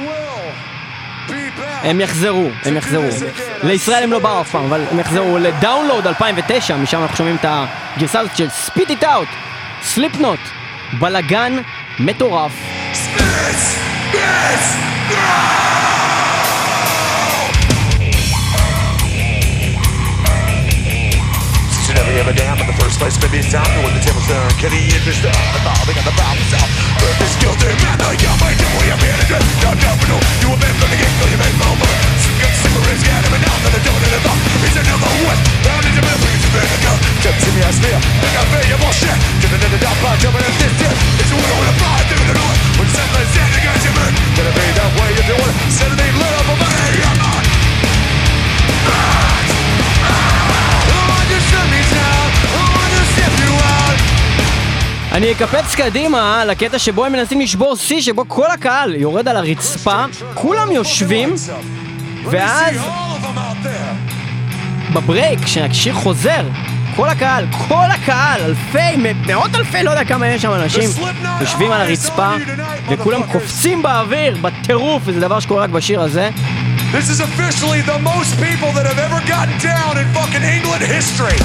הם יחזרו, הם יחזרו. לישראל הם לא באו אף פעם, אבל הם יחזרו לדאונלוד אלפיים ותשע, משם אנחנו שומעים את הגרסה הזאת של Spit It Out, סליפנוט, בלגן מטורף. Never ever down in the first place, maybe it's time to when the tables turn. Kenny and Mister Evolving on the problem south. But this guilty man, I got my devil, you're being a good, not domino. You have been from the get-go, you've been over. Some good cigarettes, got him and out, that I don't in the thought. He's another west, down in the middle, he's a better gun. Jump to me, I smear, think I pay your bullshit. Jumping in the dark, by jumping in this shit. It's a winner with a fire, through the north. When settlers stand against your man, gonna be that way if you want it. Settle me, let up, but hey, I'm not. אני אקפץ קדימה לקטע שבו הם מנסים לשבור שיא, שבו כל הקהל יורד על הרצפה, כולם יושבים, ואז בברייק, כשהשיר חוזר, כל הקהל, כל הקהל, אלפי, מאות אלפי, לא יודע כמה יש שם אנשים, יושבים על הרצפה, וכולם קופצים באוויר, בטירוף, וזה דבר שקורה רק בשיר הזה. This is officially the most people that have ever gotten down in fucking England history.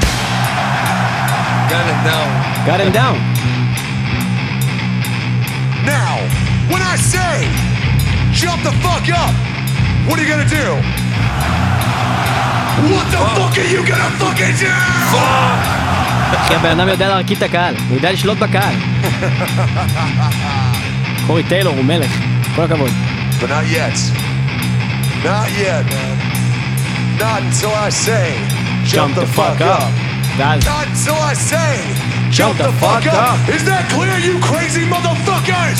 Got him down. Got him down. Now, when I say jump the fuck up, what are you gonna do? What the fuck are you gonna fucking do? כי הבן אדם יודע להרכיב את הקהל, הוא יודע לשלוט בקהל. קורי טיילור הוא מלך, כל הכבוד. But not yet. Not yet, man. Not until I say jump the fuck up. ואז Not until I say jump the fuck up. Is that clear, you crazy motherfuckers?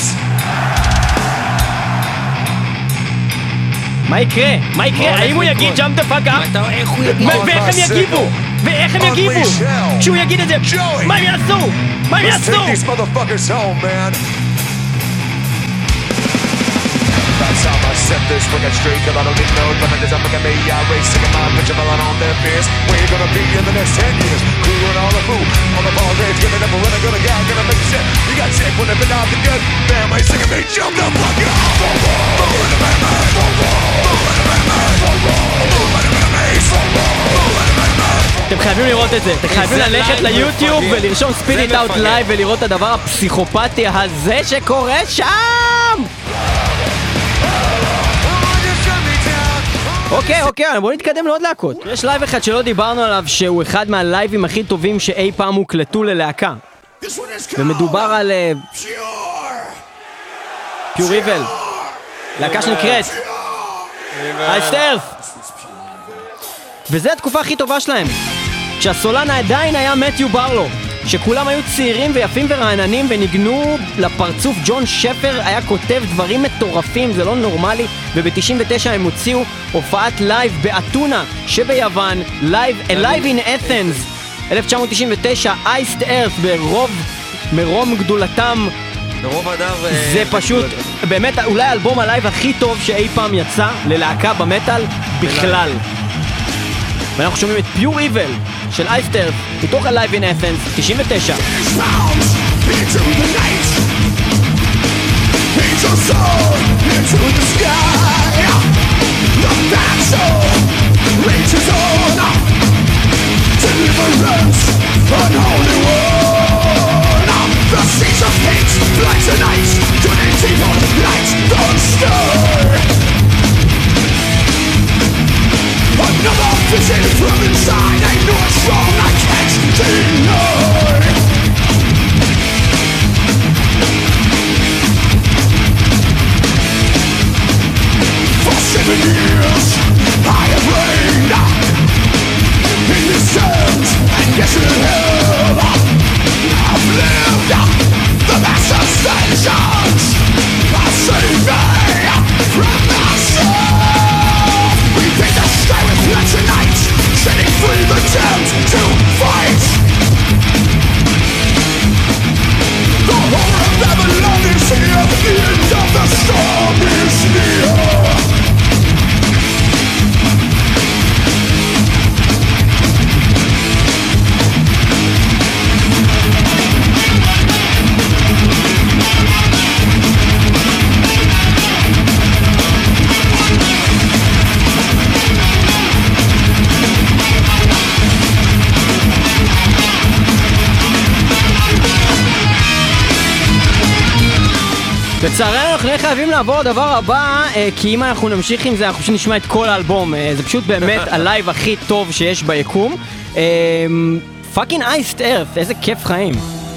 מה יקרה? מה יקרה? האם הוא יגיד jump the fuck up? איך הוא יגיד? ואיך הם יגיבו? ואיך הם יגיבו? כשהוא יגיד את זה, מה הם יעשו? מה הם Let's יעשו? take these motherfuckers home, man. That's how I set this fucking straight, cause I don't need no tremendous. I'm looking at me, I race, singing my bitch, I'm all on their fears. Where you gonna be in the next ten years? Crewing all the food, on the ball grades, giving up a running, gonna get, gonna make shit. You got sick when they've been out the good. Family singing me, jump the fuck up. Move in the man, man. Move in the man, man. Move in the man, man. אתם חייבים לראות את זה, אתם חייבים ללכת ליוטיוב ולרשום Spit It Out Live ולראות את הדבר הפסיכופתי הזה שקורה שם! אוקיי, אוקיי, בואו נתקדם לעוד להקות. יש לייב אחד שלא דיברנו עליו שהוא אחד מהלייבים הכי טובים שאי פעם הוקלטו ללהקה. ומדובר על פיור איבל, להקה שנקראת Iced Earth. וזו התקופה הכי טובה שלהם, כשהסולן עדיין היה מתיו ברלו, שכולם היו צעירים ויפים ורעננים וניגנו לפרצוף. ג'ון שפר היה כותב דברים מטורפים, זה לא נורמלי. וב-תשעים ותשע הם הוציאו הופעת לייב באתונה שביוון, לייב, Alive in Athens, אלף תשע מאות תשעים ותשע, Iced Earth ברוב, מרום גדולתם. ברוב הדר... זה פשוט, באמת אולי האלבום הלייב הכי טוב שאי פעם יצא ללהקה במטל בכלל. ואנחנו שומעים את פיור איבל של Iced Earth מתוך ה-Live in Athens תשעים ותשע. Another vision from inside, I know it's wrong, I can't deny. לצערנו אנחנו נהיה חייבים לעבור לדבר הבא, כי אם אנחנו נמשיך עם זה אנחנו פשוט נשמע את כל האלבום. זה פשוט באמת הלייב הכי טוב שיש ביקום. פאקינג אייסט ארת, איזה כיף חיים.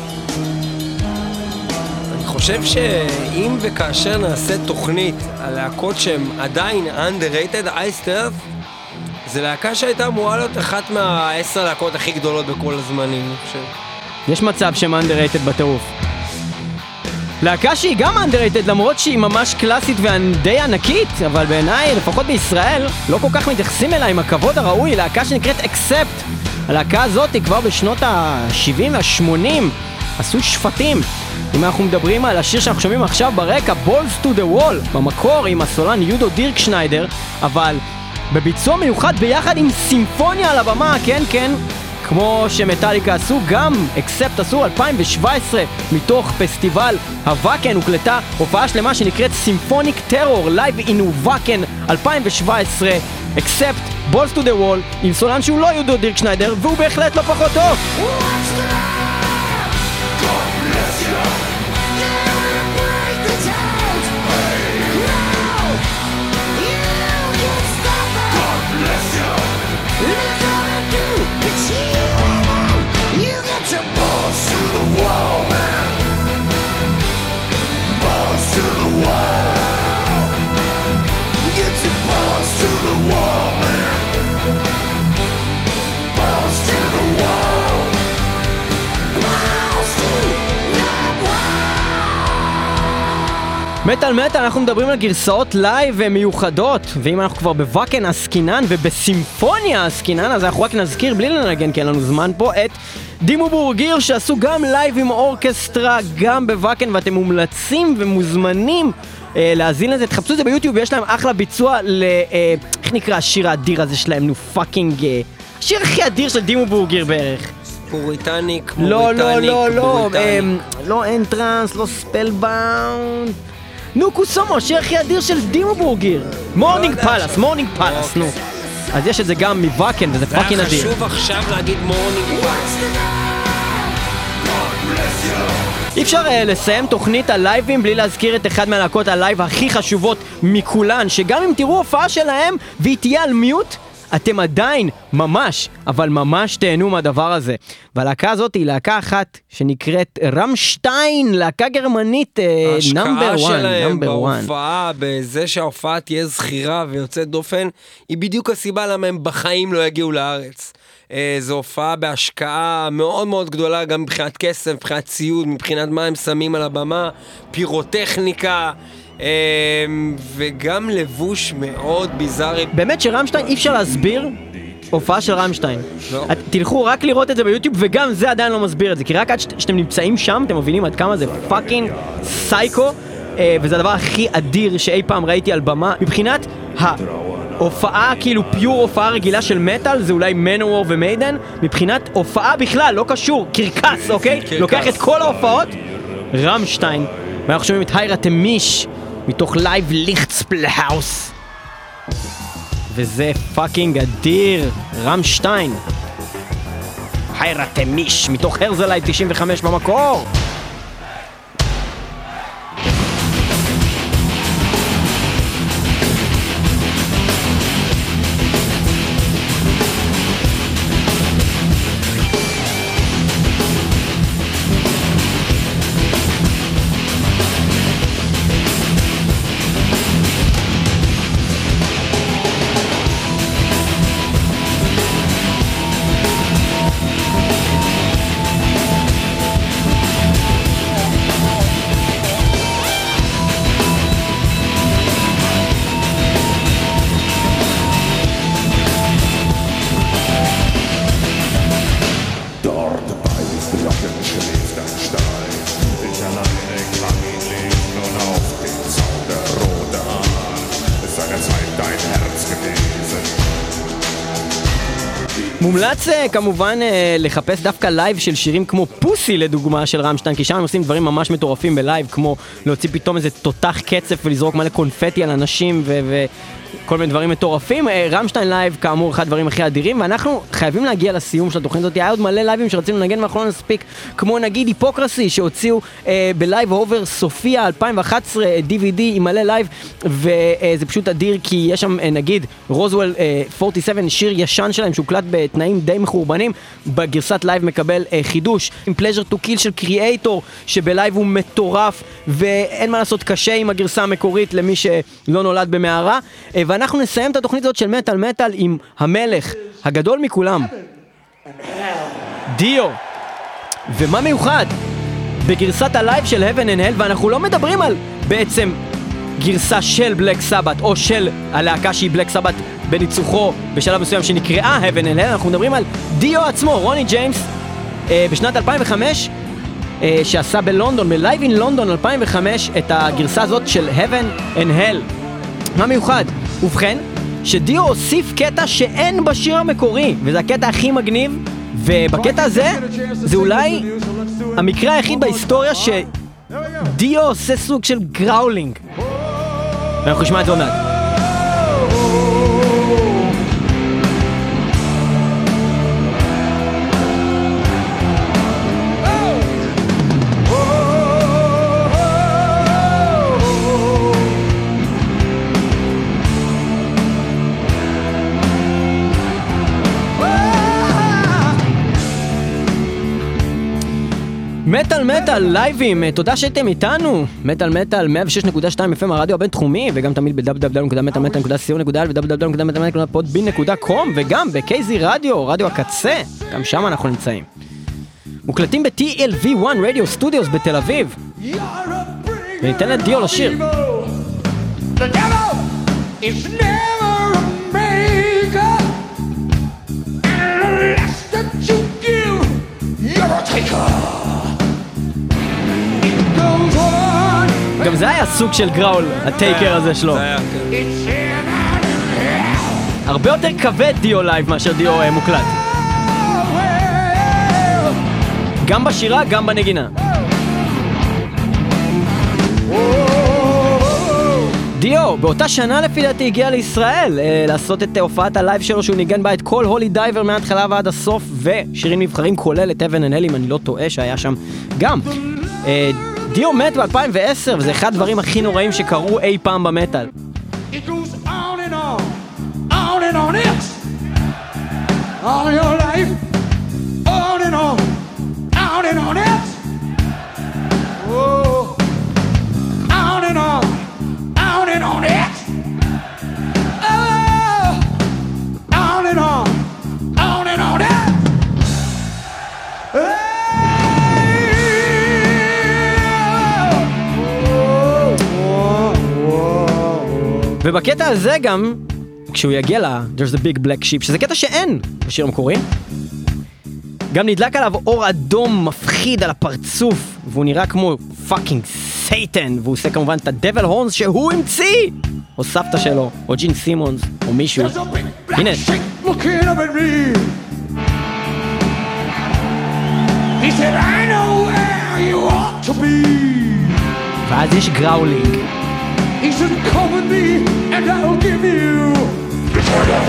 אני חושב שאם וכאשר נעשה תוכנית על להקות שהן עדיין underrated, אייסט ארת זה להקה שהייתה אמורה להיות אחת מהעשר להקות הכי גדולות בכל הזמנים, אני חושב. יש מצב שהן underrated בטירוף. להקה שהיא גם underrated למרות שהיא ממש קלאסית ודי ענקית, אבל בעיניי, לפחות בישראל, לא כל כך מתייחסים אליה עם הכבוד הראוי, להקה שנקראת Accept. הלהקה הזאת היא כבר בשנות ה-שבעים וה-שמונים עשו שפטים. אם אנחנו מדברים על השיר שאנחנו שומעים עכשיו ברקע, Balls to the Wall, במקור עם הסולן יודו דירקשניידר, אבל בביצוע מיוחד ביחד עם סימפוניה על הבמה, כן כן, כמו שמטאליקה עשו, גם Accept עשו אלפיים שבע עשרה מתוך פסטיבל הוואקן, הוקלטה הופעה שלמה שנקראת סימפוניק טרור, Live in וואקן אלפיים שבע עשרה, Accept, Balls to the Wall, עם סולן שהוא לא יודו דירקשניידר, והוא בהחלט לא פחות טוב. מטל מטל, אנחנו מדברים על גרסאות לייב מיוחדות, ואם אנחנו כבר בוואקן עסקינן ובסימפוניה עסקינן, אז אנחנו רק נזכיר בלי לנגן כי אין לנו זמן פה את דימו בורגיר שעשו גם לייב עם אורקסטרה גם בוואקן, ואתם מומלצים ומוזמנים אה, להזין לזה, תחפשו את זה ביוטיוב, יש להם אחלה ביצוע ל... אה, איך נקרא השיר האדיר הזה שלהם? נו פאקינג... אה, השיר הכי אדיר של דימו בורגיר בערך. פוריטניק, לא, לא, לא, לא, אה, פוריטניק. לא אנטרנס, לא ספלבאונד. נו קוסומו, השיר הכי אדיר של דימו בורגיר. מורנינג פלאס, מורנינג פלאס, נו. אז יש את זה גם מוואקן וזה פאקינג אדיר. זה היה חשוב עכשיו להגיד מורנינג פלאס. אי אפשר uh, לסיים תוכנית הלייבים בלי להזכיר את אחד מהלהקות הלייב הכי חשובות מכולן, שגם אם תראו הופעה שלהם והיא תהיה על מיוט, אתם עדיין ממש, אבל ממש תהנו מהדבר הזה. והלהקה הזאת היא להקה אחת שנקראת רמשטיין, להקה גרמנית נאמבר ההשקעה וואן, שלהם נאמבר וואן. בהופעה, בזה שההופעה תהיה זכירה ויוצאת דופן, היא בדיוק הסיבה למה הם בחיים לא יגיעו לארץ. זו הופעה בהשקעה מאוד מאוד גדולה, גם מבחינת כסף, מבחינת ציוד, מבחינת מה הם שמים על הבמה, פירוטכניקה, וגם לבוש מאוד ביזארי. באמת שרמשטיין אי אפשר להסביר הופעה של רמשטיין. לא. את, תלכו רק לראות את זה ביוטיוב, וגם זה עדיין לא מסביר את זה, כי רק עד שאתם נמצאים שם אתם מבינים עד כמה זה פאקינג סייקו, וזה הדבר הכי אדיר שאי פעם ראיתי על במה. מבחינת ההופעה, כאילו פיור הופעה רגילה של מטל, זה אולי מנוור ומיידן. מבחינת הופעה בכלל, לא קשור, קרקס, אוקיי? קרקס. לוקח את כל ההופעות, רמשטיין. ואנחנו שומעים את היירה תמיש מתוך לייב ליכטספלהאוס, וזה פאקינג אדיר. רמשטיין, היירה תמיש מתוך הרזלייב תשעים וחמש במקור. מומלץ כמובן לחפש דווקא לייב של שירים כמו פוסי לדוגמה של רמשטיין, כי שם הם עושים דברים ממש מטורפים בלייב, כמו להוציא פתאום איזה תותח קצף ולזרוק מלא קונפטי על אנשים ו... ו- כל מיני דברים מטורפים. רמשטיין לייב כאמור אחד הדברים הכי אדירים, ואנחנו חייבים להגיע לסיום של התוכנית הזאת. היה עוד מלא לייבים שרצינו לנגן ואנחנו לא נספיק, כמו נגיד היפוקרסי שהוציאו אה, בלייב אובר סופיה אלפיים ואחת עשרה די וי די עם מלא לייב, וזה אה, פשוט אדיר כי יש שם אה, נגיד רוזוול אה, ארבעים ושבע, שיר ישן שלהם שהוקלט בתנאים די מחורבנים, בגרסת לייב מקבל אה, חידוש עם Pleasure to Kill של קריאייטור שבלייב הוא מטורף ואין מה לעשות, קשה עם הגרסה המקורית למי שלא נולד במערה. אה, ואנחנו נסיים את התוכנית הזאת של מטל מטל עם המלך הגדול מכולם, דיו. ומה מיוחד? בגרסת הלייב של Heaven and Hell, ואנחנו לא מדברים על בעצם גרסה של בלק סבת או של הלהקה שהיא בלק סבת בניצוחו בשלב מסוים שנקראה Heaven and Hell, אנחנו מדברים על דיו עצמו, רוני ג'יימס, אה, בשנת אלפיים וחמש, אה, שעשה בלונדון, בלייב אין לונדון אלפיים וחמש, את הגרסה הזאת של Heaven and Hell. מה מיוחד? ובכן, שדיו הוסיף קטע שאין בשיר המקורי, וזה הקטע הכי מגניב, ובקטע הזה, זה אולי המקרה היחיד בהיסטוריה שדיו עושה סוג של גראולינג. ואנחנו נשמע את זה עוד מעט. מטל מטל לייבים, תודה שהייתם איתנו. מטל מטל מאה ושש נקודה שתיים אף אם הרדיו הבינתחומי, וגם תמיד ב-דאבליו דאבליו דאבליו נקודה מטל מטל נקודה סי או נקודה איי אל ו-דאבליו דאבליו דאבליו נקודה מטל מטל נקודה פודבין נקודה קום, וגם ב-קיי זי רדיו, רדיו הקצה, גם שם אנחנו נמצאים. מוקלטים ב-טי אל וי וואן רדיו סטודיוס בתל אביב. וניתן לדיו לשיר. The devil is never a maker, and the less that you give, you're a taker. גם זה היה סוג של גראול, הטייקר הזה שלו. הרבה יותר כבד דיו לייב מאשר דיו מוקלט. גם בשירה, גם בנגינה. דיו, באותה שנה לפי דעתי הגיע לישראל לעשות את הופעת הלייב שלו שהוא ניגן בה את כל הולי דייבר מההתחלה ועד הסוף, ושירים נבחרים כולל את Heaven and Hell, אם אני לא טועה שהיה שם גם. דיו מת ב-אלפיים ועשר, וזה אחד הדברים הכי נוראים שקרו אי פעם במטל. It goes on and on, on and on it, all your life, on and on, on and on it, oh, on and on, on and on it, oh, on and on, on and on it. ובקטע הזה גם, כשהוא יגיע ל- There's a big black sheep, שזה קטע שאין בשיר המקורי, גם נדלק עליו אור אדום מפחיד על הפרצוף, והוא נראה כמו פאקינג סייטן, והוא עושה כמובן את הדבל הורנס שהוא המציא, או סבתא שלו, או ג'ין סימונס, או מישהו. הנה. Looking up at me. He said, I know where you ought to be. ואז יש גראולינג. He said, come with me and I'll give you eternal.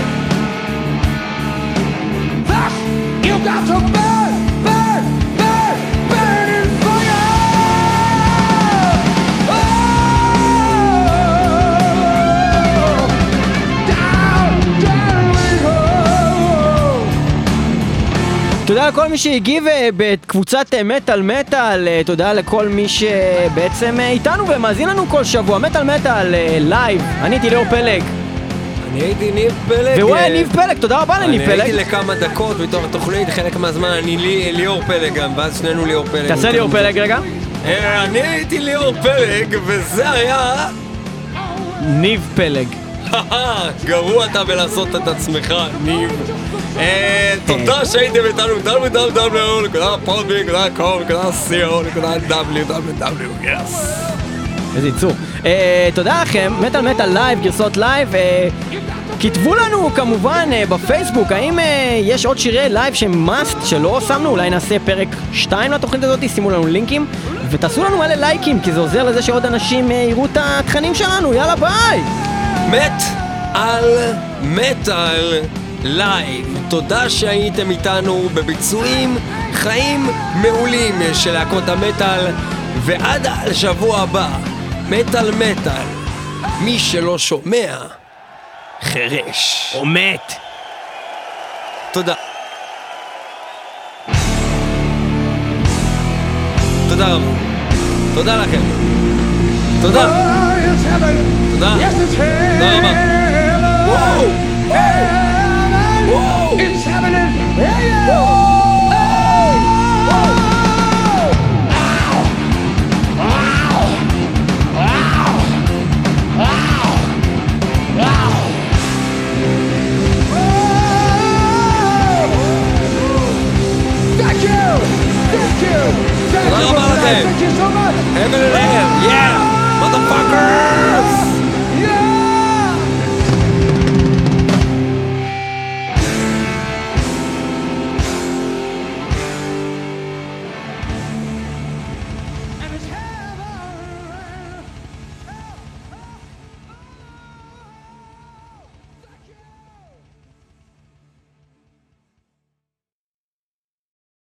Thus, you got to burn, burn, burn, burn in fire. Oh, down, down we go. תודה לכל מי שהגיב בקבוצת מטל מטל, תודה לכל מי שבעצם איתנו ומאזין לנו כל שבוע. מטל מטל לייב, אני הייתי ליאור פלג. אני הייתי ניב פלג. והוא היה ניב פלג, תודה רבה לניב פלג. אני הייתי לכמה דקות בתוך התוכנית, חלק מהזמן אני ליאור פלג גם, ואז שנינו ליאור פלג. תעשה ליאור פלג רגע. אני הייתי ליאור פלג, וזה היה... ניב פלג. גרוע אתה בלעשות את עצמך, ניב. תודה שהייתם איתנו, דאבליו דאבליו דאבליו נקודה פודבין נקודה קום נקודה סי או נקודה דאבליו דאבליו דאבליו, יס. איזה ייצור. תודה לכם, מטל מטל לייב, גרסות לייב. כתבו לנו כמובן אה, בפייסבוק, האם אה, יש עוד שירי לייב שהם must שלא שמנו, אולי נעשה פרק שתיים לתוכנית הזאת, שימו לנו לינקים ותעשו לנו מלא לייקים, כי זה עוזר לזה שעוד אנשים אה, יראו את התכנים שלנו, יאללה ביי! מת על מטל לייב. תודה שהייתם איתנו בביצועים חיים מעולים של להקות המטל, ועד השבוע הבא, מטל מטל, מי שלא שומע חרש או מת. תודה. תודה רבה. תודה לכם. תודה. תודה. תודה רבה. וואו. וואו. It's happening. Hey, yo.